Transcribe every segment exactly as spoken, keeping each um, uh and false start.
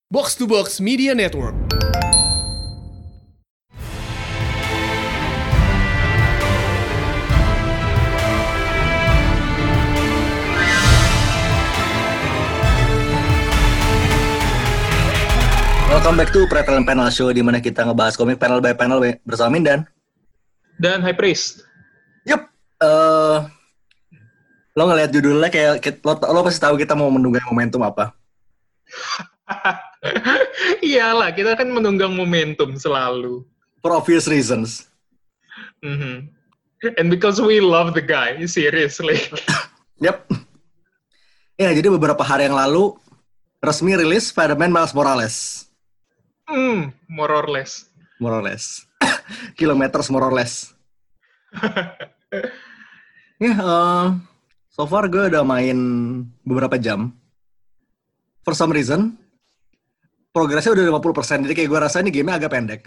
Box to Box Media Network. Welcome back to Pretel Panel Show, di mana kita ngebahas komik panel by panel bersama Mindan dan High Priest. Yup. Uh, lo ngeliat judulnya kayak lo, lo pasti tahu kita mau menunggang momentum apa. Iyalah, kita kan menunggang momentum selalu. For obvious reasons. Mm-hmm. And because we love the guy, seriously. Yep. Ya, jadi beberapa hari yang lalu resmi rilis Spider-Man Miles Morales. Hmm, more or less. More or less. Kilometers more or less. Ya, yeah, uh, so far gue udah main beberapa jam. For some reason, progresnya udah lima puluh persen, jadi kayak gue rasa ini game-nya agak pendek.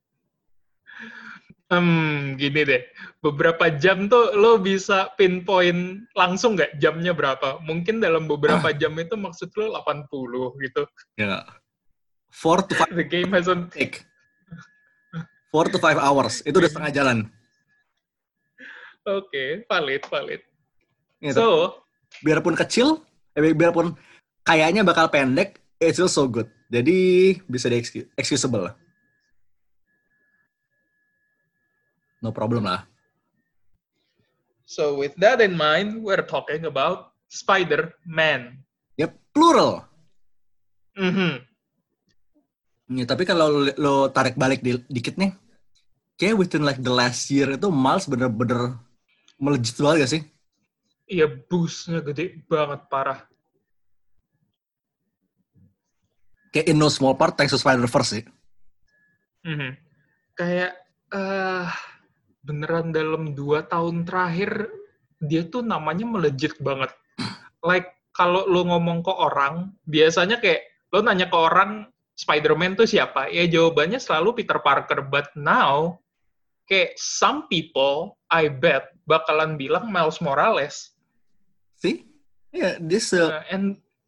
Hmm, gini deh. Beberapa jam tuh lo bisa pinpoint langsung nggak jamnya berapa? Mungkin dalam beberapa jam itu maksud lo delapan puluh gitu. Ya. four to five The game hasn't take. four to five hours. Itu udah setengah jalan. Oke, okay, valid, valid. Ya, so, biarpun kecil, eh, biarpun kayaknya bakal pendek, it's still so good. Jadi bisa di-excusable lah. No problem lah. So with that in mind, we're talking about Spider-Man. Yep, plural. Mm-hmm. Ya, tapi kalau lo, lo tarik balik di, dikit nih, kayak within like the last year itu Miles bener-bener melejit banget gak sih? Iya, boost-nya gede banget, parah. Kayak in no small part thanks to Spider-Verse sih. Mm-hmm. Kayak uh, beneran dalam dua tahun terakhir dia tuh namanya melejit banget. Like kalau lo ngomong ke orang, biasanya kayak lo nanya ke orang Spider-Man tuh siapa? Ya jawabannya selalu Peter Parker. But now, kayak some people, I bet, bakalan bilang Miles Morales. See? Yeah, this... Uh... Uh, and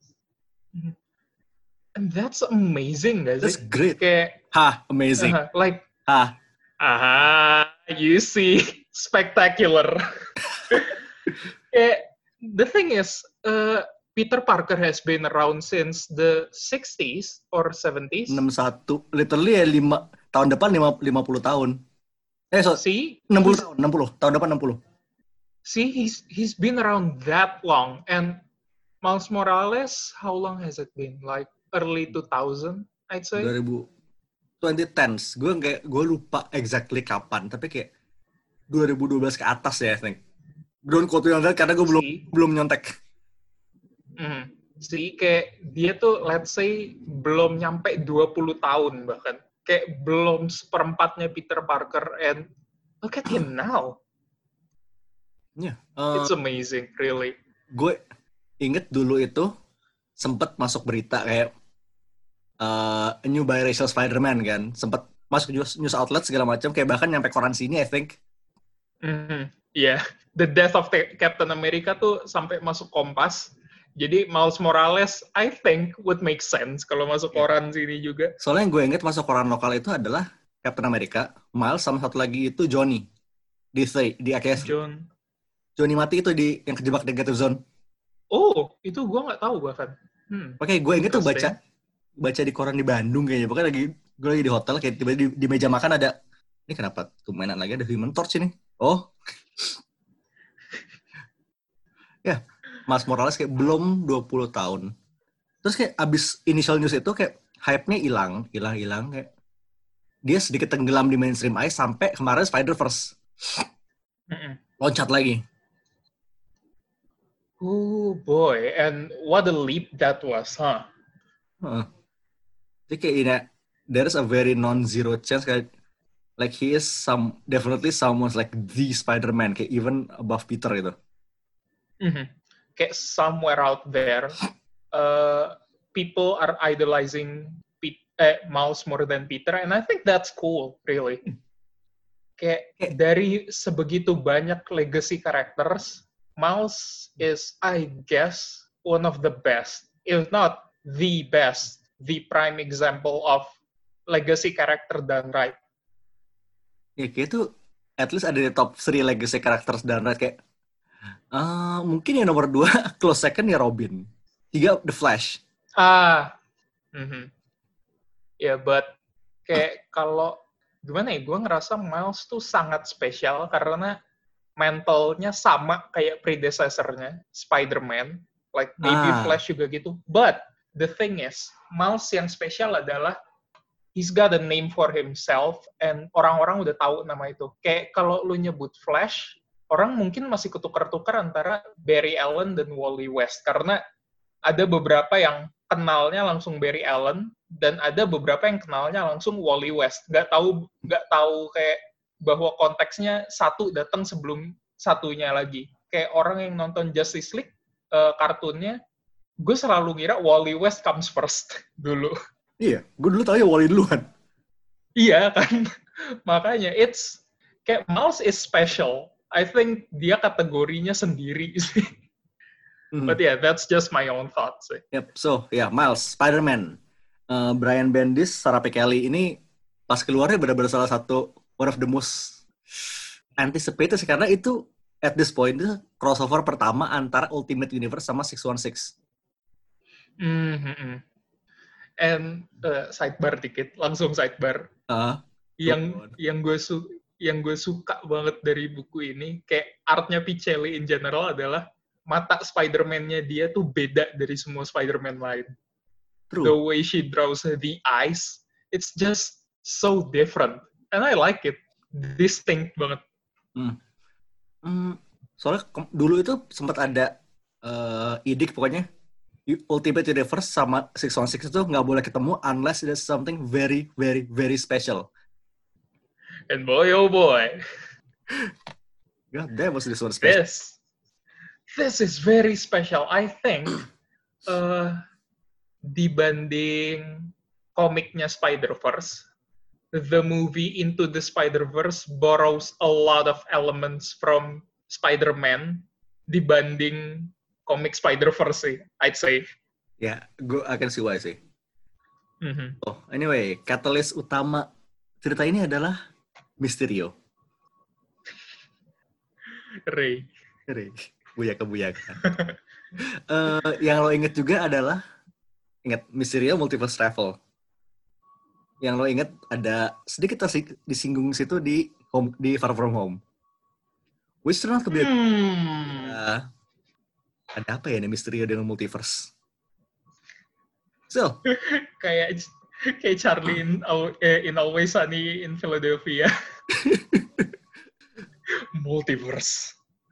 and that's amazing, guys. That's great. Kayak, ha, amazing. Uh, like, ha. Aha, you see, spectacular. Kayak, the thing is, uh, Peter Parker has been around since the sixties or seventies. enam puluh satu, literally ya lima tahun depan lima puluh tahun. Eh, so, See, enam puluh tahun, enam puluh tahun depan enam puluh. See, he's he's been around that long, and Miles Morales, how long has it been? Like early two thousand, I'd say. dua ribu twenty tens, gue kayak gue lupa exactly kapan, tapi kayak dua ribu dua belas ke atas ya, I think. Don't quote me on that karena gue belum See? belum nyontek. Hmm. See, kayak dia tuh, let's say, belum nyampe dua puluh tahun bahkan. Kayak belum seperempatnya Peter Parker, and look at him now. Yeah, uh, it's amazing, really. Gue inget dulu itu sempet masuk berita kayak uh, a new biracial Spider-Man kan, sempet masuk news, news outlet segala macam, kayak bahkan nyampe koran sini, I think. Mm-hmm. Yeah, the death of Captain America tuh sampai masuk Kompas. Jadi Miles Morales, I think, would make sense kalau masuk yeah. koran sini juga. Soalnya yang gue inget masuk koran lokal itu adalah Captain America, Miles, sama satu lagi itu Johnny. Di di A K S. John. Johnny mati itu di yang kejebak negative zone. Oh, itu gue nggak tahu bahkan. Hmm. Oke, gue inget tuh baca baca di koran di Bandung kayaknya. Pokoknya lagi gue lagi di hotel, kayak tiba-tiba di, di meja makan ada, ini kenapa tuh mainan lagi ada Human Torch ini? Oh. Ya. Yeah. Miles Morales kayak belum dua puluh tahun. Terus kayak abis initial news itu kayak hype-nya hilang, hilang, hilang kayak dia sedikit tenggelam di mainstream ice sampai kemarin Spider-Verse. Mm-mm. Loncat lagi. Oh boy, and what a leap that was, huh? Uh, Jadi kayak ini, there is a very non-zero chance kayak like he is some definitely someone's like the Spider-Man, kayak even above Peter itu. Mm-hmm. Kayak somewhere out there, uh, people are idolizing Pete, eh, Miles more than Peter, and I think that's cool, really. Kayak okay. Dari sebegitu banyak legacy characters, Miles is, I guess, one of the best, if not the best the prime example of legacy character done right. Ya kayak itu at least ada di top three legacy characters dan right kayak uh, mungkin yang nomor dua close second ya Robin, tiga The Flash. Ah, mm-hmm. Ya, yeah, but kayak kalau gimana ya, gue ngerasa Miles tuh sangat spesial karena mentalnya sama kayak predecessor-nya Spider-Man, like maybe Ah. Flash juga gitu. But the thing is, Miles yang spesial adalah he's got a name for himself and orang-orang udah tahu nama itu. Kayak kalau lu nyebut Flash, orang mungkin masih ketukar-tukar antara Barry Allen dan Wally West karena ada beberapa yang kenalnya langsung Barry Allen dan ada beberapa yang kenalnya langsung Wally West. Nggak tahu nggak tahu kayak bahwa konteksnya satu datang sebelum satunya lagi. Kayak orang yang nonton Justice League uh, kartunnya, gue selalu ngira Wally West comes first dulu. Iya, gue dulu tahu ya Wally duluan. Iya kan, makanya it's kayak Miles is special. I think dia kategorinya sendiri sih. Mm-hmm. But yeah, that's just my own thoughts. Yep, so yeah, Miles, Spider-Man, uh, Brian Bendis, Sarah P. Kelly ini pas keluarnya benar-benar salah satu one of the most anticipated sih karena itu at this point itu crossover pertama antara Ultimate Universe sama six one six. Mm-hmm. And uh, sidebar dikit, langsung sidebar. Uh, yang oh, yang gue su yang gue suka banget dari buku ini, kayak artnya Pichelli in general adalah mata Spider-Man-nya dia tuh beda dari semua Spider-Man lain. True. The way she draws the eyes, it's just so different. And I like it. Distinct banget. Hmm. Hmm. Soalnya dulu itu sempat ada uh, idik pokoknya Ultimate Universe sama six one six itu nggak boleh ketemu unless there's something very, very, very special. And boy, oh boy. God damn, was this one special? This, this is very special. I think uh, dibanding komiknya Spider-Verse, the movie Into the Spider-Verse borrows a lot of elements from Spider-Man dibanding komik Spider-Verse sih, I'd say. Ya, yeah, gue akan see why sih. Mm-hmm. Oh, anyway, katalis utama cerita ini adalah Mysterio. Ray. Ray. Buyaka-buyaka. uh, yang lo inget juga adalah, ingat Mysterio Multiverse Travel. Yang lo inget ada sedikit disinggung situ di home, di Far From Home. Which turned out to be a... Hmm. Uh, ada apa ya nih Mysterio dengan multiverse? So, kayak kayak Charlie in, in Always Sunny in Philadelphia. Multiverse.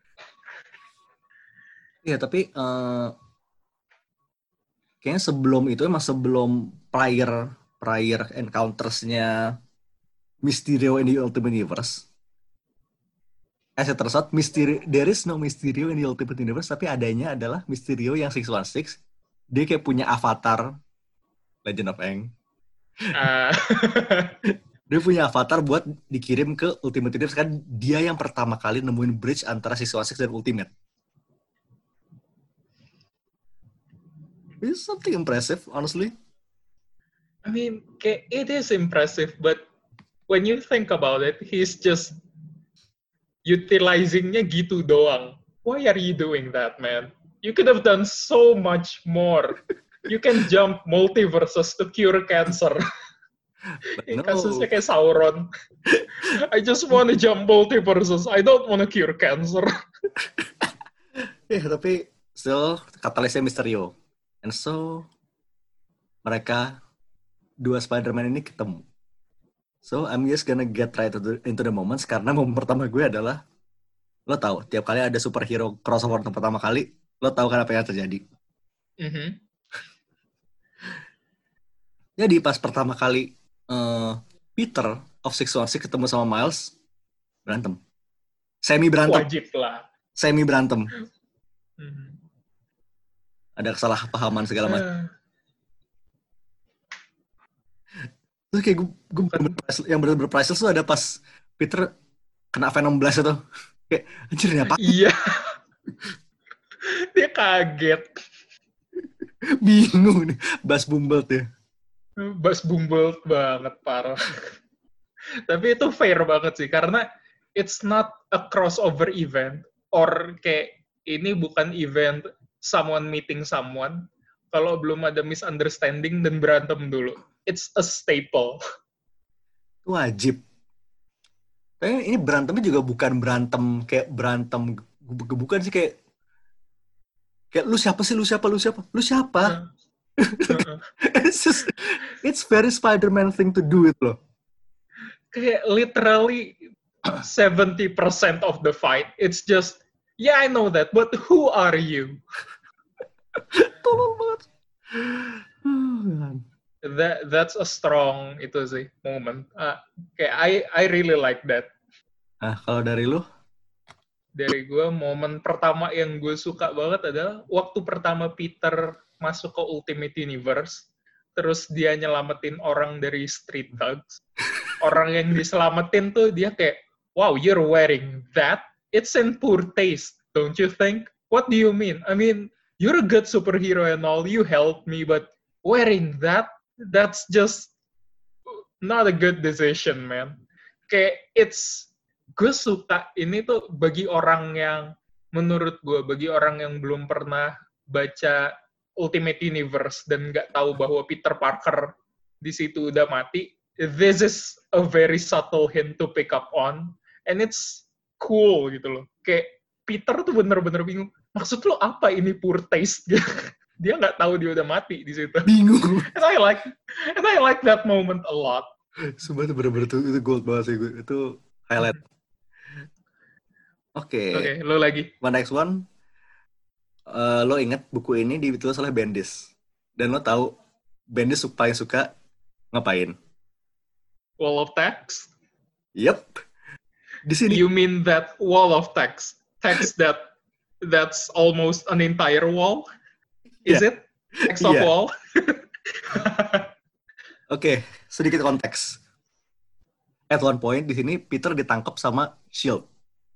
Iya, tapi uh, kayaknya sebelum itu emang sebelum prior prior encounters-nya Mysterio in the Ultimate Universe. As it turns out, Mysterio, there is no Mysterio in the Ultimate Universe, tapi adanya adalah Mysterio yang six one six. Dia kayak punya avatar Legend of Aang. Uh. Dia punya avatar buat dikirim ke Ultimate Universe, kan dia yang pertama kali nemuin bridge antara six one six dan Ultimate. It's something impressive, honestly. I mean, it is impressive, but when you think about it, he's just utilizingnya gitu doang. Why are you doing that, man? You could have done so much more. You can jump multiverses to cure cancer. No. Kasusnya kayak Sauron. I just want to jump multiverses. I don't want to cure cancer. Ya, yeah, tapi still katalisnya Mysterio. And so mereka dua Spider-Man ini ketemu. So I'm just gonna get right into the moments karena momen pertama gue adalah lo tahu tiap kali ada superhero crossover untuk pertama kali lo tahu kan apa yang terjadi. Mm-hmm. Jadi pas pertama kali uh, Peter of six one six ketemu sama Miles berantem, semi berantem, wajib lah, semi berantem. Mm-hmm. Ada kesalahpahaman segala macam. Uh. Terus kayak gue, gue yang bener-bener priceless tuh ada pas Peter kena Venom Blast itu. Kayak, anjir ini apa? Iya. Dia kaget. Bingung nih. Bas Bumble tuh. Bas Bumbold banget, parah. Tapi itu fair banget sih, karena it's not a crossover event, or kayak ini bukan event someone meeting someone, kalau belum ada misunderstanding dan berantem dulu. It's a staple. Wajib. Tapi ini berantemnya juga bukan berantem kayak berantem gebuk-gebukan sih, kayak kayak lu siapa sih, lu siapa, lu siapa, lu siapa? It's just, it's very Spider-Man thing to do it loh. Kayak literally seventy percent of the fight, it's just, yeah, I know that, but who are you? Tolong banget. That that's a strong itu sih moment. Uh, kayak I I really like that. Nah, kalau dari lu? Dari gue, momen pertama yang gue suka banget adalah waktu pertama Peter masuk ke Ultimate Universe, terus dia nyelamatin orang dari street thugs. Orang yang diselamatin tuh dia kayak, wow, you're wearing that? It's in poor taste, don't you think? What do you mean? I mean, you're a good superhero and all, you helped me, but wearing that? That's just not a good decision, man. Kayak, it's, gue suka ini tuh bagi orang yang, menurut gue, bagi orang yang belum pernah baca Ultimate Universe dan nggak tahu bahwa Peter Parker di situ udah mati, this is a very subtle hint to pick up on, and it's cool gitu loh. Kayak Peter tuh bener-bener bingung, maksud lo apa ini poor taste? Dia nggak tahu dia udah mati di situ. Bingung. And I like, and I like that moment a lot. Sumpah itu bener-bener tuh, itu gold banget sih gue. Itu highlight. Oke. Okay. Oke, okay, lo lagi. My next one, uh, lo inget buku ini ditulis oleh Bendis, dan lo tahu Bendis paling suka ngapain? Wall of text? Yep. Di sini. You mean that wall of text? Text that that's almost an entire wall? Is yeah. it? Text of yeah. wall? Oke, okay, sedikit konteks. At one point di sini Peter ditangkap sama Shield.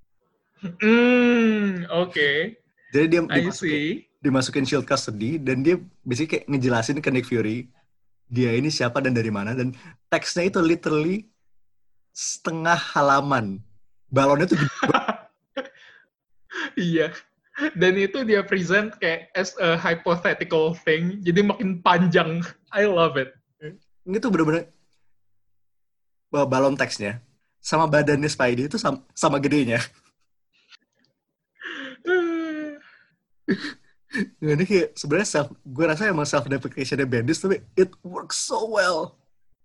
Hmm, oke. Okay. Jadi dia dimasukin, dimasukin Shield custody dan dia basically kayak ngejelasin ke Nick Fury dia ini siapa dan dari mana, dan teksnya itu literally setengah halaman. Balonnya tuh gede. Iya. Dan itu dia present kayak as a hypothetical thing, jadi makin panjang. I love it. Ini tuh bener-bener balon teksnya sama badannya Spidey itu sama, sama gedenya. Ini kayak sebenarnya self, gue rasa emang self deprecationnya Bendis, tapi it works so well.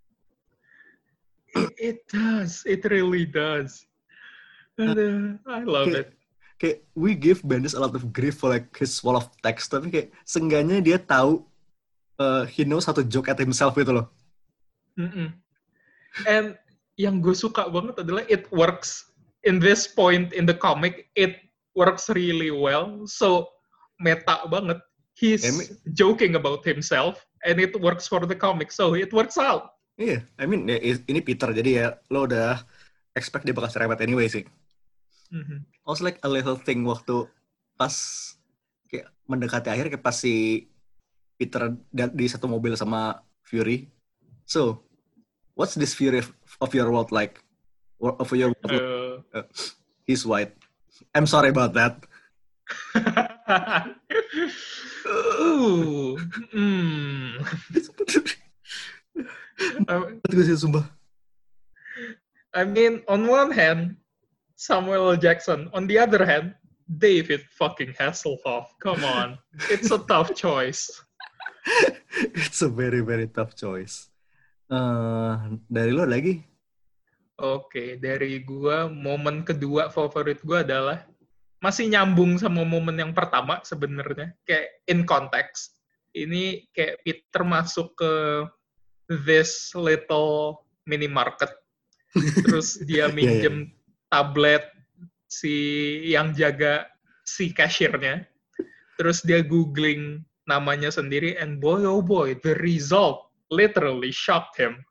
It, it does, it really does. And, uh, I love kayak, it. Kayak we give Bendis a lot of grief for like his wall of text, tapi kayak seenggaknya dia tahu uh, he knows how to joke at himself gitu loh. Mm-mm. And yang gue suka banget adalah it works in this point in the comic. It works really well. So meta banget. He's I mean, joking about himself, and it works for the comic. So it works out. Iya, yeah, I mean ya, ini Peter, jadi ya lo udah expect dia bakal serempet anyway sih. Mm-hmm. Also like a little thing waktu pas kayak mendekati akhir, kayak pas si Peter di satu mobil sama Fury. So, what's this Fury of your world like? Of your world? Uh, uh, he's white. I'm sorry about that. Ooh. Mm. I mean, on one hand, Samuel L. Jackson. On the other hand, David fucking Hasselhoff. Come on. It's a tough choice. It's a very, very tough choice. Uh, dari lo lagi? Oke, okay, dari gua, momen kedua favorit gua adalah masih nyambung sama momen yang pertama sebenarnya, kayak in context. Ini kayak Peter masuk ke this little minimarket, terus dia minjem yeah, yeah. tablet si yang jaga si cashiernya, terus dia googling namanya sendiri, and boy oh boy, the result literally shocked him.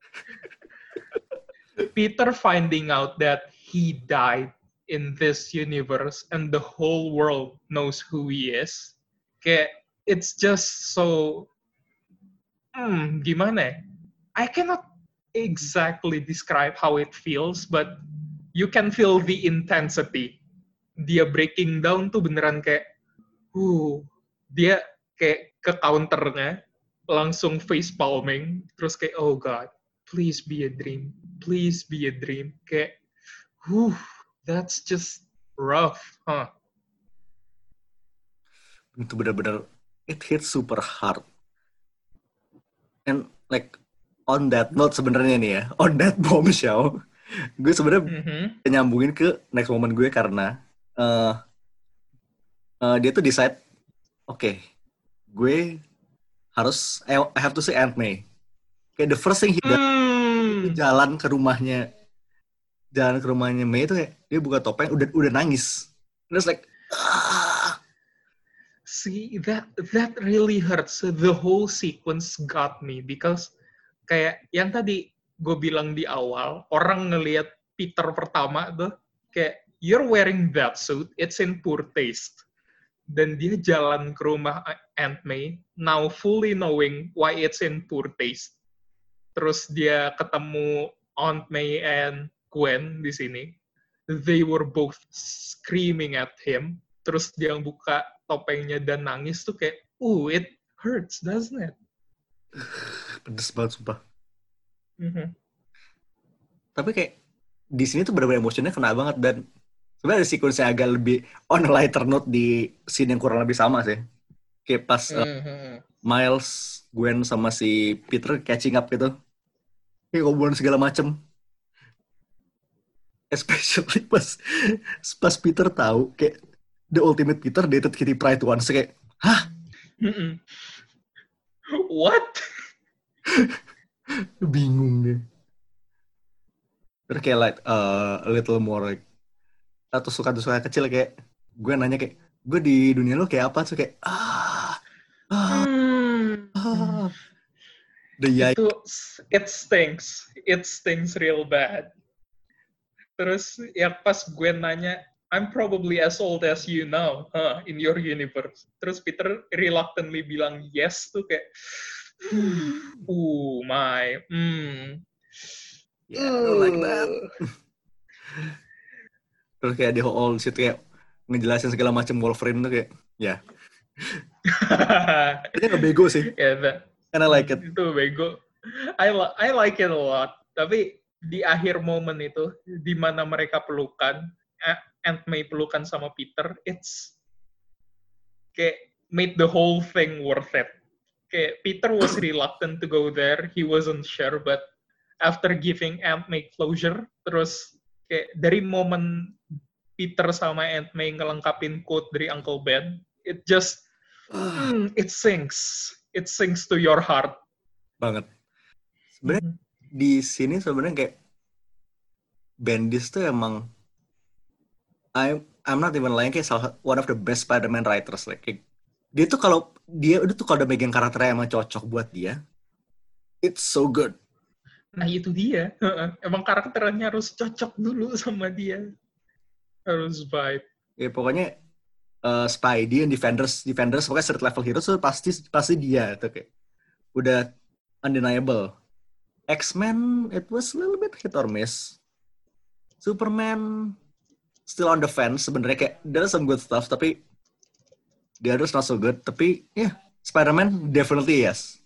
Peter finding out that he died in this universe and the whole world knows who he is. Kayak, it's just so hmm, gimana ya? I cannot exactly describe how it feels, but you can feel the intensity. Dia breaking down tuh beneran kayak, uh, dia kayak ke counternya, langsung face palming, terus kayak, oh God, please be a dream, please be a dream. Kayak, uh, that's just rough, huh? Itu benar-benar it hits super hard. And like on that note sebenarnya nih ya, on that bombshell, gue sebenarnya Mm-hmm. nyambungin ke next moment gue karena uh, uh, dia tuh decide, oke, okay, gue harus I have to see Aunt May. Kayak the first thing he does Mm. itu jalan ke rumahnya, jalan ke rumahnya May itu kayak dia buka topeng udah udah nangis. Terus like, ah. See, that that really hurts. The whole sequence got me because kayak yang tadi gue bilang di awal, orang ngelihat Peter pertama tuh kayak you're wearing that suit, it's in poor taste. Dan dia jalan ke rumah Aunt May, now fully knowing why it's in poor taste. Terus dia ketemu Aunt May and Gwen di sini. They were both screaming at him. Terus dia buka topengnya dan nangis tuh kayak, ooh, it hurts, doesn't it? Pedes banget sumpah. Mm-hmm. Tapi kayak di sini tuh benar-benar emosinya kena banget dan sebenarnya ada sequence yang agak lebih on a lighter note di scene yang kurang lebih sama sih. Kayak pas uh, Mm-hmm. Miles, Gwen sama si Peter catching up gitu. Kayak ngobrolin segala macem. Especially pas pas Peter tahu kayak the ultimate Peter dated Kitty Pryde once. Kayak, hah? Mm-mm. What? Bingung deh. Terus kayak like uh, a little more like atau suka-suka kecil kayak gue nanya kayak gue di dunia lo kayak apa tuh kayak ah ah, Hmm. ah. The yike. Itu it stinks, it stinks real bad. Terus ya pas gue nanya, I'm probably as old as you now, huh, in your universe. Terus Peter reluctantly bilang yes tuh kayak, oh my, hmm. Yeah, I don't like that. Terus kayak di whole situ kayak ngejelasin segala macam Wolverine tuh kayak, ya. Yeah. Dia nggak bego sih. Yeah, that, and I like it. Itu bego. I, li- I like it a lot. Tapi di akhir momen itu, di mana mereka pelukan, Aunt May pelukan sama Peter, it's kayak made the whole thing worth it. Kayak Peter was reluctant to go there, he wasn't sure, but after giving Aunt May closure, terus kayak dari momen Peter sama Aunt May ngelengkapin quote dari Uncle Ben, it just, mm, it sinks. It sinks to your heart. Banget. Sebenarnya mm-hmm. di sini sebenarnya kayak Bendis tuh emang I'm I'm not even lying kayak salah one of the best Spider-Man writers like kayak, dia tuh kalau dia udah tuh kalau udah megang karakternya emang cocok buat dia, it's so good. Nah itu dia, emang karakternya harus cocok dulu sama dia, harus vibe. Ya pokoknya uh, Spidey and Defenders, Defenders pokoknya street level heroes tuh pasti pasti dia tuh kayak udah undeniable. X-Men it was a little bit hit or miss. Superman still on the fence sebenarnya kayak there's some good stuff tapi the others not so good. Tapi ya yeah, Spider-Man definitely yes.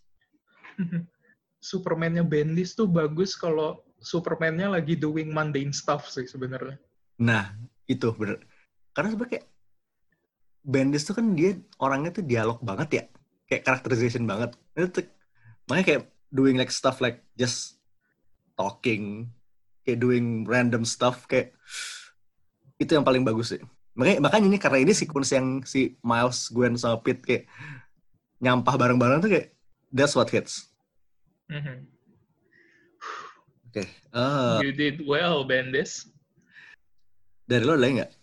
Superman-nya Bendis tuh bagus kalau Superman-nya lagi doing mundane stuff sih sebenarnya. Nah itu bener. Karena sebenarnya kayak Bendis tuh kan dia orangnya tuh dialog banget ya, kayak characterization banget. Itu makanya kayak doing like stuff like just talking, kayak doing random stuff kayak itu yang paling bagus sih. Makanya makanya ini karena ini sequence yang si Miles, Gwen sama Pete kayak nyampah bareng-bareng tuh kayak that's what hits. Mm-hmm. Oke. Okay. Uh, you did well, Bendis. Dari lo ada lagi nggak?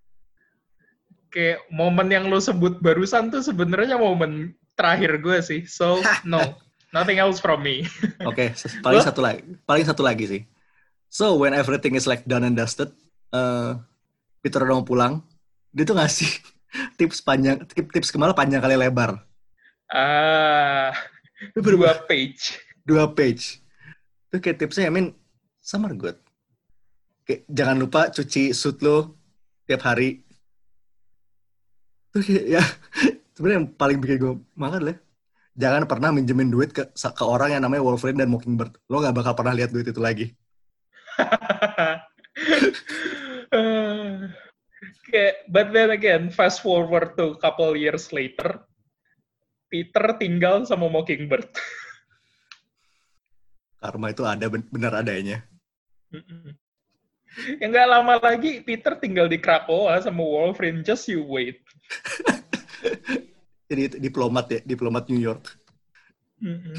Kayak momen yang lo sebut barusan tuh sebenarnya momen terakhir gue sih. So no, nothing else from me. Oke, okay, paling satu lagi, paling satu lagi sih. So when everything is like done and dusted, uh, Peter udah mau pulang, dia tuh ngasih tips panjang, tips tips kemana panjang kali lebar. Ah, Dua page. Dua page. Itu kayak tipsnya, I mean, some are good. Kayak jangan lupa cuci suit lo tiap hari. Itu kayak, ya, sebenarnya yang paling bikin gue makan lah. Jangan pernah minjemin duit ke, ke orang yang namanya Wolverine dan Mockingbird. Lo gak bakal pernah lihat duit itu lagi. Okay, but then again, fast forward to couple years later, Peter tinggal sama Mockingbird. Karma itu ada, benar adanya. Ya nggak lama lagi, Peter tinggal di Krakoa sama Wolverine. Just you wait. Jadi diplomat ya, diplomat New York. Mm-mm.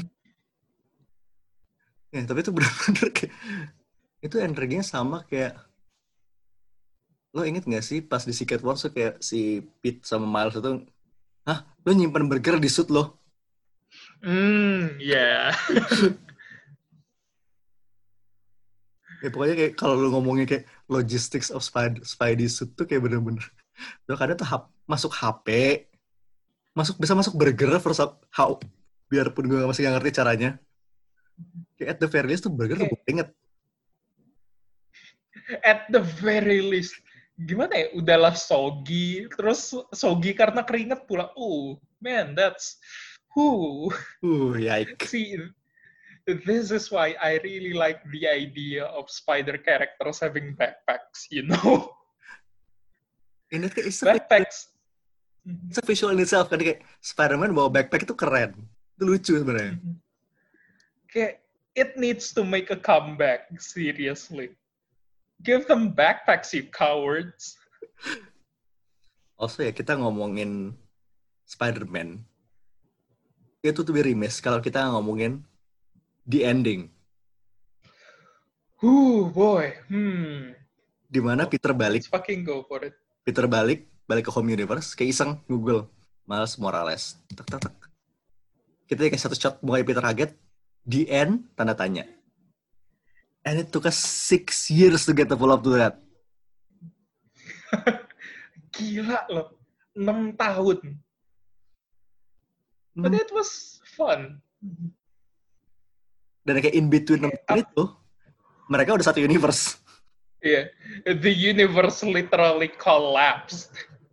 Ya, tapi itu benar-benar kayak, itu energinya sama kayak, lo inget gak sih pas di Secret Wars tuh kayak si Pete sama Miles itu, hah, lo nyimpen burger di suit lo? Hmm, ya. Yeah. Ya pokoknya kayak kalau lo ngomongin kayak logistics of Spidey, Spidey suit tuh kayak bener-bener, lo kadang tuh hap, masuk H P, masuk bisa masuk burger first how, biarpun gue masih gak ngerti caranya. Kayak at the very least tuh burger tuh gue inget. At the very least. Gimana ya, udahlah soggy, terus soggy karena keringet pula. Oh, man, that's, whoo. Uh, yikes. See, this is why I really like the idea of spider characters having backpacks, you know? Ini kayak backpacks. It's a visual in itself, kan kayak Spider-Man bawa backpack itu keren. Itu lucu sebenarnya. Kayak, it needs to make a comeback, seriously. Give them backpacks, you cowards. Also ya, kita ngomongin Spider-Man. Itu tuh remiss kalau kita ngomongin the ending. Ooh, boy. Hmm. Dimana Peter balik. Let's fucking go for it. Peter balik, balik ke home universe, kayak iseng Google Miles Morales. Tak, tak, tak. Kita kayak satu shot, mulai Peter kaget. The end, tanda tanya. And it took us six years to get the follow-up to that. Gila loh. enam tahun. But it was fun. Dan kayak in between enam tahun itu, mereka udah satu universe. Yeah. The universe literally collapsed.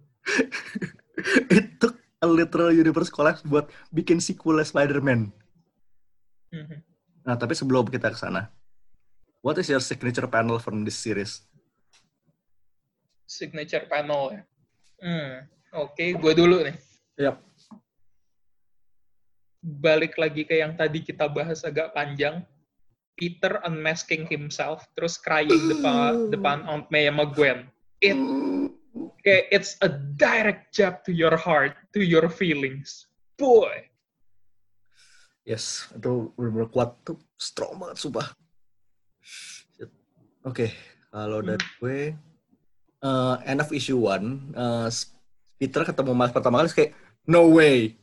It took a literal universe collapse buat bikin sequel Spider-Man. Mm-hmm. Nah, tapi sebelum kita ke sana, what is your signature panel from this series? Signature panel ya? Hmm, Oke, okay, gue dulu nih. Yap. Balik lagi ke yang tadi kita bahas agak panjang. Peter unmasking himself, terus crying depan, depan Aunt May sama Gwen. It, okay, it's a direct jab to your heart, to your feelings. Boy! Yes, itu benar-benar kuat tuh, strong banget, sumpah. Oke, okay, kalau dari hmm. gue, uh, end of issue one, uh, Peter ketemu Miles pertama kali kayak, no way.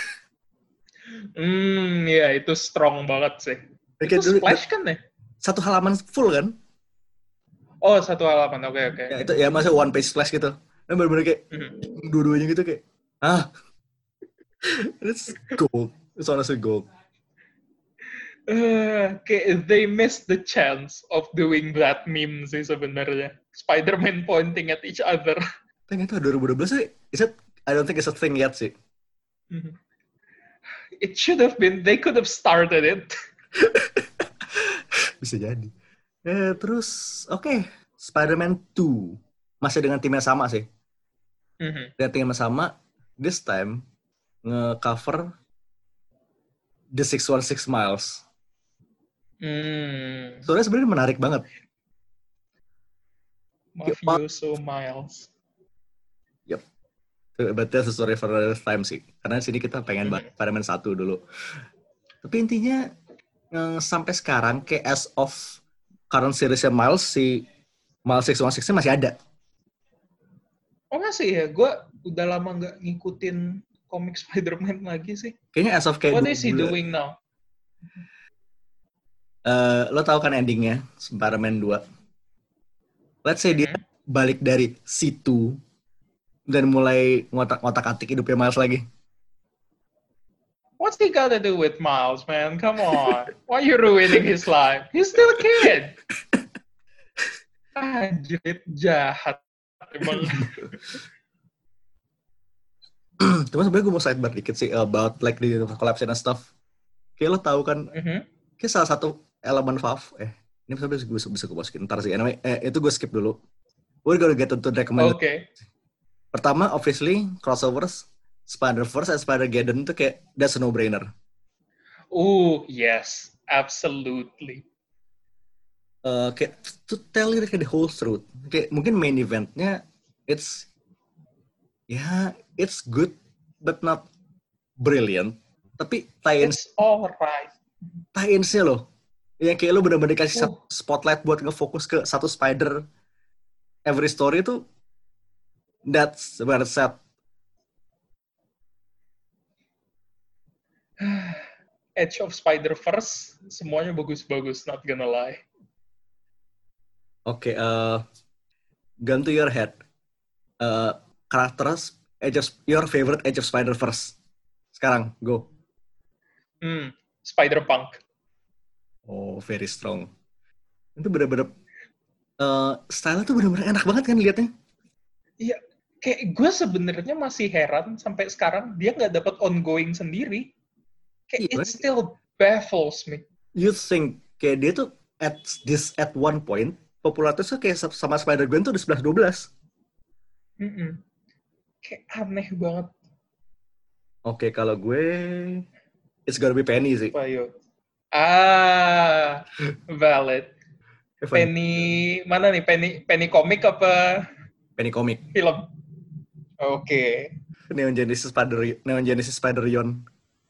Hmm, ya itu strong banget sih. Itu dulu, splash kan ya? Satu halaman full kan? Oh, satu halaman, oke okay, oke. Okay. Ya, itu ya masih one page splash gitu. Dan benar-benar kayak, mm-hmm. dua-duanya gitu kayak, ah, it's gold. It's honestly gold. Uh, okay, they missed the chance of doing that meme sih sebenarnya. Spider-Man pointing at each other. Tapi itu dua ribu dua belas sih, is it, I don't think it's a thing yet sih. Mm-hmm. It should have been, they could have started it. Bisa jadi. Eh, terus, oke, okay. Spider-Man two. Masih dengan tim yang sama sih. Mm-hmm. Dengan tim yang sama, this time, nge-cover The six one six Miles. Hmm. Soalnya sebenarnya menarik banget. Mafioso Miles. Yep. But that's a story for another time sih. Karena sini kita pengen bahas Spider-Man satu dulu. Tapi intinya, yang sampai sekarang, kayak as of current series-nya Miles, si Miles six one six-nya masih ada. Oh masih ya? Gue udah lama nggak ngikutin komik Spider-Man lagi sih. Kayaknya as of kayak What is he doing now? Uh, lo tau kan endingnya Spider-Man two. Let's say mm-hmm. dia balik dari situ dan mulai ngotak-ngotak atik hidupnya Miles lagi. What's he got to do with Miles, man? Come on. Why you ruining his life? He's still a kid. Anjir, jahat. Emang. Cuma sebenarnya gue mau sidebar dikit sih about like the collapse and stuff. Kayak lo tahu kan, Mm-hmm. kayak salah satu elemen Valve, eh ini bisa gue bisa gue masukin ntar sih. Anyway, eh, itu gue skip dulu. We're gonna get into recommended. Oke. Okay. Pertama, obviously crossovers, Spider-Verse and Spider-Geddon itu kayak that's a no-brainer. Oh yes, absolutely. Uh, kayak to tell you kayak the whole truth. Kayak mungkin main eventnya it's ya yeah, it's good but not brilliant. Tapi tie-ins, It's alright. tie-insnya loh, yang kayak lo bener-bener kasih Oh. satu spotlight buat ngefokus ke satu spider every story itu that's where it's at. Edge of Spider-Verse semuanya bagus-bagus, not gonna lie. Oke, okay, uh, gun to your head. Uh, karakter Edge of, your favorite Edge of Spider-Verse. Sekarang, go. Hmm, Spider-Punk. Oh, very strong. Itu bener-bener uh, style tuh bener-bener enak banget kan liatnya. Iya, kayak gue sebenarnya masih heran sampai sekarang dia nggak dapat ongoing sendiri. Kayak Iya, it still baffles me. You think kayak dia tuh at this at one point popularitasnya kayak sama Spider-Gwen tuh udah sebelas dua belas. Mm-mm. Kayak aneh banget. Oke, okay, kalau gue it's gonna be Penny sih. Ayo. Ah, valid. Evan. Penny mana nih? Penny Penny komik apa Penny komik. film? Oke. Okay. Neon Genesis Spider Neon Genesis Spider-Yon.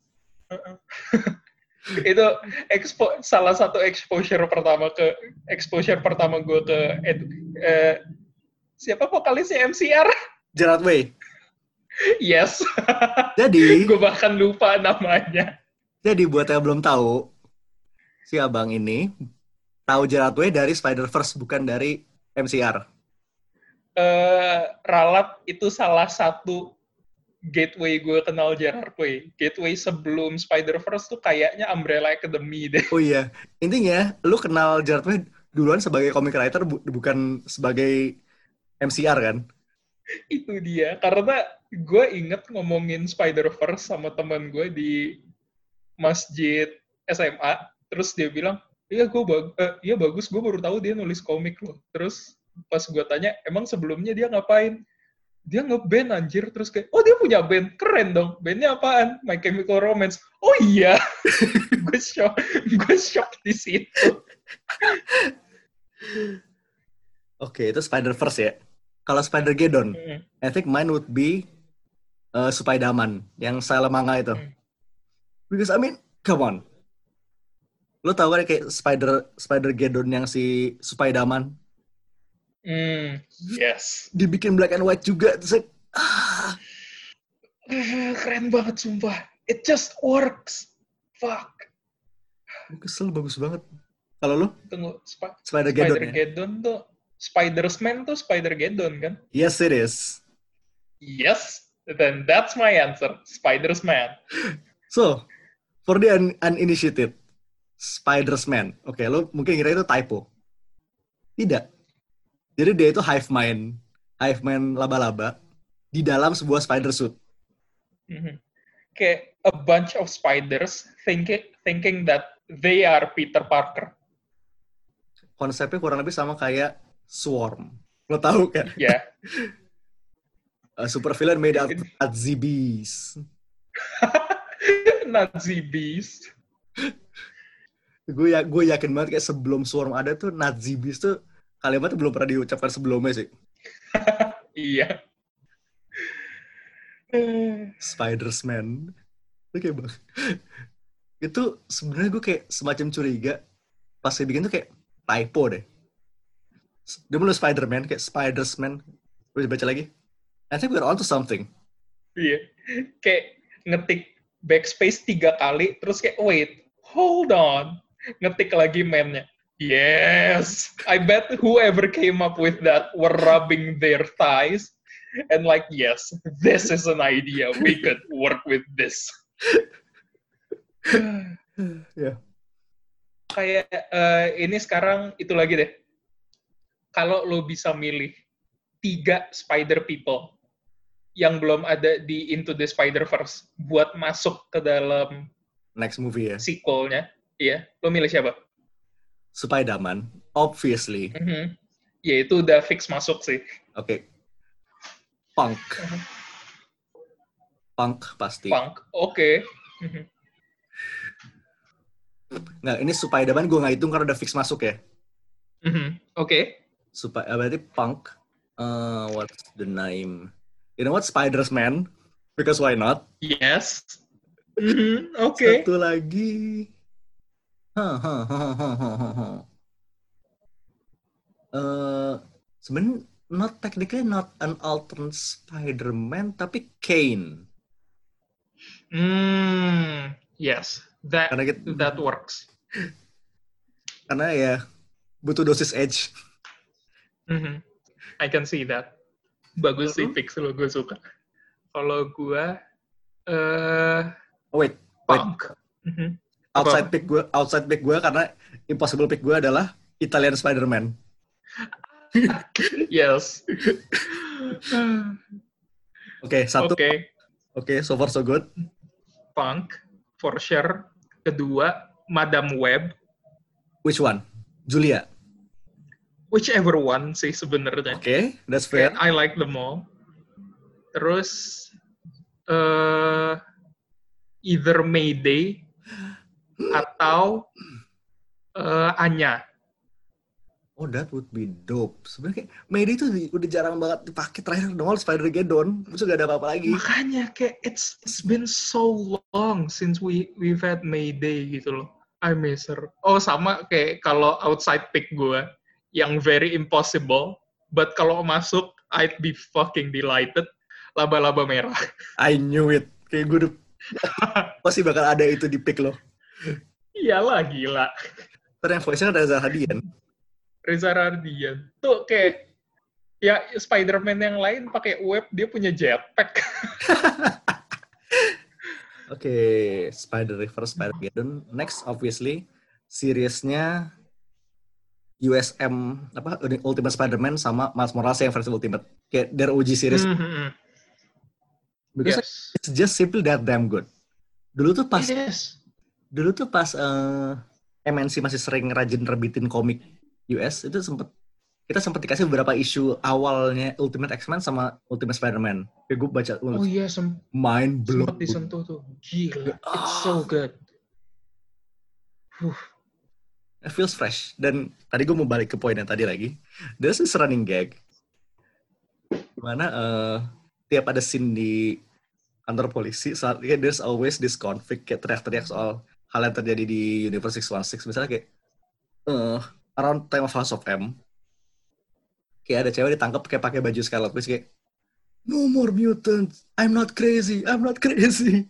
Itu expo, salah satu exposure pertama ke exposure pertama gue ke edu, eh, siapa vokalisnya M C R? Gerard Way. Yes. Jadi gue bahkan lupa namanya. Jadi buat yang belum tahu, si abang ini tahu Gerard Way dari Spider-Verse bukan dari M C R. Uh, Ralat itu salah satu gateway gue kenal Gerard Way. Gateway sebelum Spider-Verse tuh kayaknya Umbrella Academy deh. Oh iya, intinya lu kenal Gerard Way duluan sebagai comic writer bu- bukan sebagai M C R kan? Itu dia, karena gue inget ngomongin Spider-Verse sama teman gue di masjid S M A, terus dia bilang, iya gue bag- eh, iya bagus, gue baru tahu dia nulis komik loh. Terus pas gue tanya, emang sebelumnya dia ngapain? Dia nge-band anjir, terus kayak, oh dia punya band, keren dong. Bandnya apaan? My Chemical Romance. Oh iya, gue shock, gue shock di situ. Oke, itu Spider-Verse ya. Kalau Spider-Geddon, Mm. I think mine would be uh, Spider-Man, yang style manga itu. Mm. Because I mean, come on. Lo tau kan kayak Spider Spider-Geddon yang si Spider-Man? Mm. Yes. Dibikin black and white juga. Terus, ah. Uh, keren banget sumpah. It just works. Fuck. Gue kesel, bagus banget. Kalau lo? Tunggu, Sp- Spider-Geddon Spider-Geddon ya? tuh, Spider-Man tuh Spider-Geddon kan? Yes, it is. Yes, then that's my answer. Spider-Man. So, for the un- uninitiated, Spider-Man. Oke, lo mungkin kira itu typo. Tidak. Jadi dia itu hive mind. Hive mind laba-laba di dalam sebuah spider suit. Mm-hmm. Kayak a bunch of spiders thinking thinking that they are Peter Parker. Konsepnya kurang lebih sama kayak Swarm. Lo tahu kan? Ya. Yeah. A super villain made out of Nazi bees. Nazi bees. Gue ya, gue yakin banget kayak sebelum Swarm ada tuh Nazi bees tuh kalimatnya belum pernah diucapkan sebelumnya sih. Iya. Spider-Man. Oke bang. Itu sebenarnya gue kayak semacam curiga pas dia bikin tuh kayak typo deh. Dia mulai Spider-Man kayak Spider-Man. Gue baca lagi. I think we're onto something. Iya. Kayak ngetik backspace tiga kali terus kayak wait, hold on. Ngetik lagi man-nya. Yes. I bet whoever came up with that were rubbing their thighs and like, yes, this is an idea. We could work with this. Ya. Kayak eh, ini sekarang itu lagi deh. Kalau lo bisa milih tiga Spider People yang belum ada di Into the Spider-Verse buat masuk ke dalam Next movie ya. sequel-nya, iya, lo milih siapa? Spider-Man, obviously. Mm-hmm. Ya itu udah fix masuk sih. Oke. Okay. Punk. Punk pasti. Punk, oke. Okay. Mm-hmm. Nggak, ini Spider-Man gue nggak hitung karena udah fix masuk ya. Mm-hmm. Oke. Okay. Supaya berarti Punk. Uh, what's the name? You know what? Spider-Man. Because why not? Yes. Mm-hmm. Oke. Okay. Satu lagi. Huh, huh, huh, huh, huh, huh. Uh, sebenarnya not technically not an alternate Spider-Man, tapi Kane. Hmm. Yes. That kita, that works. Karena ya butuh dosis edge. Mm-hmm. I can see that. Bagus sih fix lo, gue suka. Kalau gue, uh, oh, wait, Punk. Wait. Mm-hmm. Outside pick gue, outside pick gue karena impossible pick gue adalah Italian Spider-Man. Yes. Oke, okay, satu. Oke, okay. okay, so far so good. Punk, for sure. Kedua, Madam Web. Which one? Julia? Whichever one sih sebenarnya. Oke, okay, that's fair. I like them all. Terus, uh, either Mayday atau uh, Anya. Oh, that would be dope. Sebenarnya kayak Mayday itu udah jarang banget dipakai, terakhir nongol Spider-Geddon, terus gak ada apa-apa lagi. Makanya kayak it's it's been so long since we we've had Mayday gitu loh. I miss her. Oh, sama kayak kalau outside pick gue yang very impossible, but kalau masuk I'd be fucking delighted. Laba-laba merah. I knew it. Kayak gue udah pasti bakal ada itu di pick lo. Iyalah, gila. Terus yang voice-nya ada Reza Radian. Reza Radian. Tuh kayak ya Spider-Man yang lain pakai web, dia punya jetpack. Oke, okay, Spider-Verse, Spider-Geddon. Next, obviously, seriesnya U S M apa Ultimate Spider-Man sama Miles Morales yang versi Ultimate. Kayak their O G series. Mm-hmm. Because yes. It's just simply that damn good. Dulu tuh pas yes. Dulu tuh pas uh, M N C masih sering rajin terbitin komik U S, itu sempet kita sempat dikasih beberapa isu awalnya Ultimate X-Men sama Ultimate Spider-Man. Kayak gue baca, oh iya, sem- mind blown. Sempat disentuh tuh. Gila, oh. It's so good. Huh. It feels fresh. Dan tadi gue mau balik ke poin yang tadi lagi. There's this running gag. Dimana uh, tiap ada scene di kantor polisi, saat kayak there's always this conflict, kayak teriak-teriak soal hal yang terjadi di Universe six one six. Misalnya kayak, uh, around time of House of M, kayak ada cewek ditangkap kayak pakai baju Scarlet Witch kayak, no more mutants, I'm not crazy, I'm not crazy.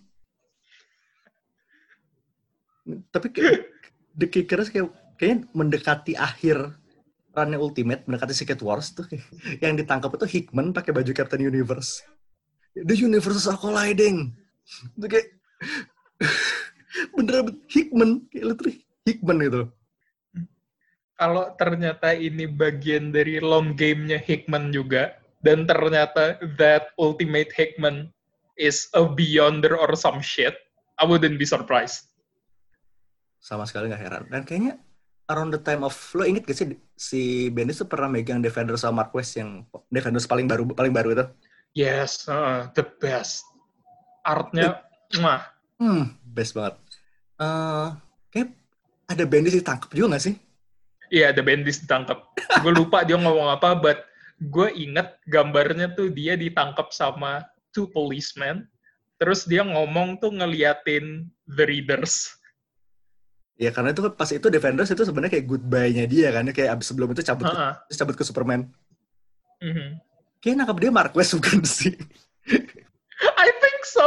Tapi kayak The Kickers kayak kayaknya mendekati akhir runnya Ultimate, mendekati Secret Wars tuh kayak, yang ditangkap itu Hickman pakai baju Captain Universe. The universes are colliding. Itu kayak bener-bener Hickman, kayak literally Hickman gitu. Kalau ternyata ini bagian dari long game-nya Hickman juga, dan ternyata that ultimate Hickman is a beyonder or some shit, I wouldn't be surprised. Sama sekali nggak heran. Dan kayaknya around the time of, lo inget gak sih si Bendis tuh pernah megang Defenders sama Mark West yang Defenders paling baru paling baru itu? Yes, uh, the best. Artnya, mwah. Hmm, best banget. Uh, kayak ada Bendis ditangkap juga nggak sih? Iya, ada Bendis ditangkap. Gue lupa dia ngomong apa, but gue inget gambarnya tuh dia ditangkap sama two policemen, terus dia ngomong tuh ngeliatin the readers. Ya karena itu pas itu Defenders itu sebenarnya kayak goodbye-nya dia kan, kayak abis sebelum itu cabut uh-uh. ke, cabut ke Superman. Mm-hmm. Kayak nangkap dia Mark West bukan sih? I think so.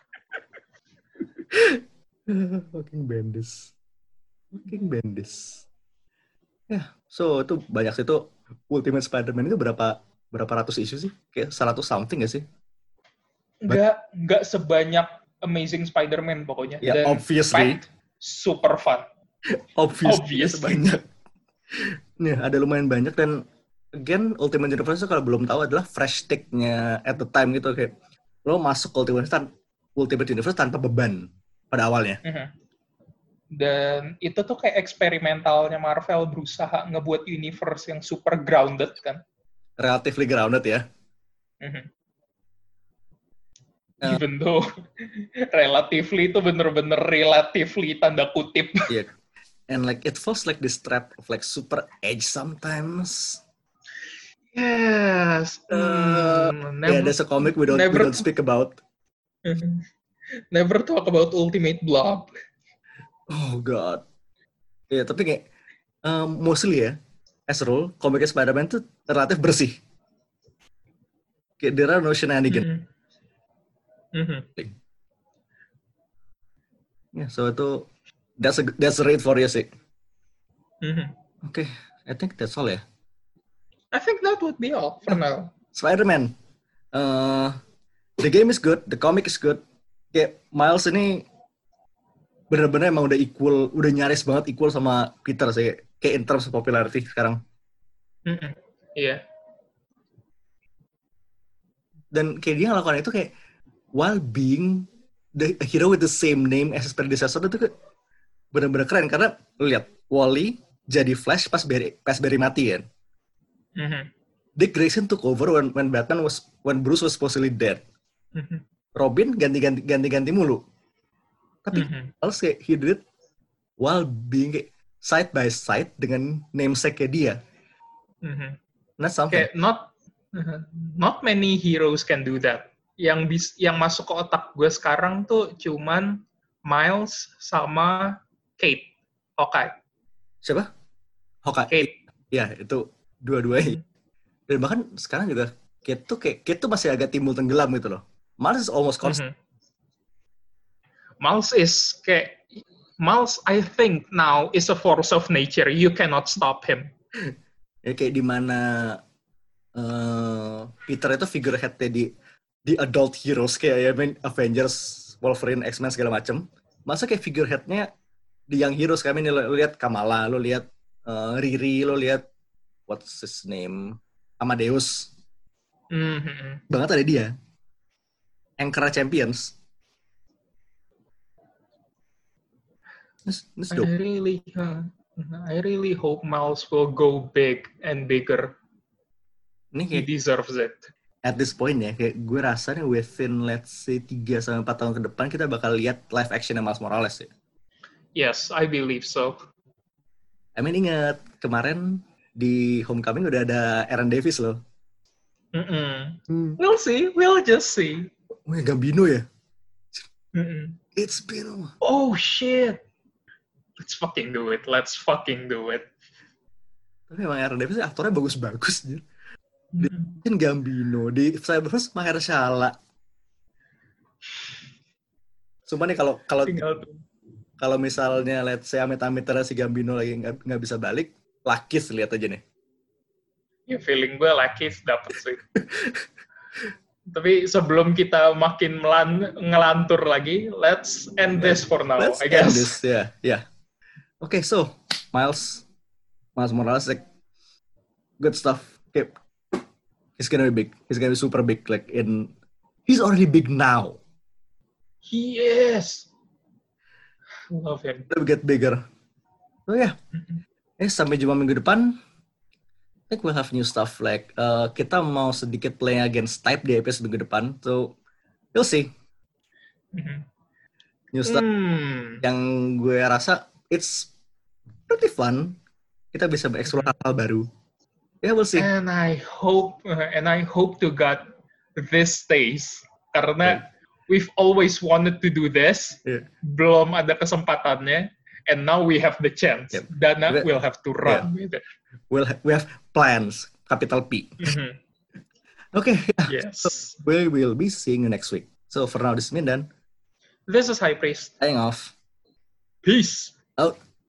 Fucking Bendis. Fucking Bendis. Ya, so itu banyak sih itu Ultimate Spider-Man itu berapa berapa ratus isu sih? Kayak seratus something gak sih? Enggak, enggak sebanyak Amazing Spider-Man pokoknya. Ya, Dan obviously. fact, super fun. Obviously, Obviously. banyak. Nih, ada lumayan banyak dan again Ultimate Universe itu kalau belum tahu adalah fresh take-nya at the time gitu kayak lo masuk Ultimate Universe, tan- Ultimate Universe tanpa beban pada awalnya. Mm-hmm. Dan itu tuh kayak eksperimentalnya Marvel berusaha ngebuat universe yang super grounded kan. Relatively grounded ya. Mm-hmm. Uh, Even though relatively itu bener-bener relatively tanda kutip. Yeah. And like it feels like this trap of like super edge sometimes. Yes. Uh, mm, yeah, never, there's a comic we don't never, we don't speak about. Never talk about Ultimate Blob. Oh god. Ya yeah, tapi kayak um, mostly ya, as a rule, komiknya Spider-Man tuh relatif bersih. Kayak there are no shenanigans. Mm-hmm. Mm-hmm. Ya, yeah, so itu that's a that's a rate for you sih. Mm-hmm. Oke, okay, I think that's all ya. I think that would be all for now. Spider-Man. Uh, the game is good, the comic is good. Kayak Miles ini benar-benar emang udah equal, udah nyaris banget equal sama Peter sih. Kayak in terms of popularity sekarang. Iya. Mm-hmm. Yeah. Dan kayak dia ngelakukan itu kayak while being the hero with the same name as his predecessor itu kayak benar-benar keren karena lu lihat Wally jadi Flash pas Barry, pas Barry mati kan. Mm-hmm. Dick Grayson took over when when Batman was when Bruce was supposedly dead. Mm-hmm. Robin ganti-ganti ganti-ganti mulu. Tapi mm-hmm. also kayak he did it while being kayak side by side dengan namesake dia. Mm-hmm. That's something. Kayak not uh, not many heroes can do that. Yang bis, yang masuk ke otak gue sekarang tuh cuman Miles sama Kate. Hawkeye. Siapa? Hawkeye. Kate. Ya, itu dua-duanya. Hmm. Dan bahkan sekarang juga Kate tuh kayak Kate tuh masih agak timbul tenggelam gitu loh. Miles is almost constant. Mm-hmm. Miles is kayak Miles I think now is a force of nature. You cannot stop him. Ya kayak di mana uh, Peter itu figurehead-nya di di adult heroes kayak ya main Avengers, Wolverine, X-Men segala macem. Masa kayak figurehead-nya di young heroes kami nih, lo lihat Kamala, lo lihat uh, Riri, lo lihat what's his name, Amadeus. Mm-hmm. Banget ada dia. Anchor Champions. This, this I really, uh, I really hope Miles will go big and bigger. Ini kayak, he deserves it. At this point ya, kayak gue rasa nih within let's say tiga sampai empat tahun ke depan kita bakal lihat live action Miles Morales ya. Yes, I believe so. I mean ingat kemarin di Homecoming udah ada Aaron Davis loh. Mm-mm. Hmm. We'll see, we'll just see. Oh ya Gambino ya? Mm-mm. It's been... Oh shit! Let's fucking do it, let's fucking do it. Tapi emang Aaron Davis aktornya bagus-bagus. Mm-hmm. Di Gambino, di Cyberverse Mahershala. Sumpah nih kalau kalau kalau misalnya let's say amit-amit si Gambino lagi nggak nggak bisa balik, Lakis lihat aja nih. Ya feeling gue Lakis dapet sih. Tapi sebelum kita makin melan- ngelantur lagi, let's end this for now, let's I guess. End this, yeah, yeah. Okay, so Miles, Miles Morales, like good stuff. Okay. He's gonna be big. He's gonna be super big. Like in, he's already big now. He is. Love him. He'll get bigger. So yeah. Eh sampai jumpa minggu depan. I think we'll have new stuff. Like uh, kita mau sedikit play against type di episode minggu depan. So you'll see. Mm-hmm. New stuff mm. yang gue rasa it's pretty fun. Kita bisa bereksplor mm-hmm. hal baru. Yeah, we'll see. And I hope, uh, and I hope to God this stays. Karena yeah. we've always wanted to do this. Yeah. Belum ada kesempatannya. And now we have the chance. Yep. Dana we, will have to run yeah. with it. We'll ha- we have plans. Capital P. Mm-hmm. Okay. Yes. So we will be seeing you next week. So for now, this is Mindan. This is High Priest. Signing off. Peace. Out.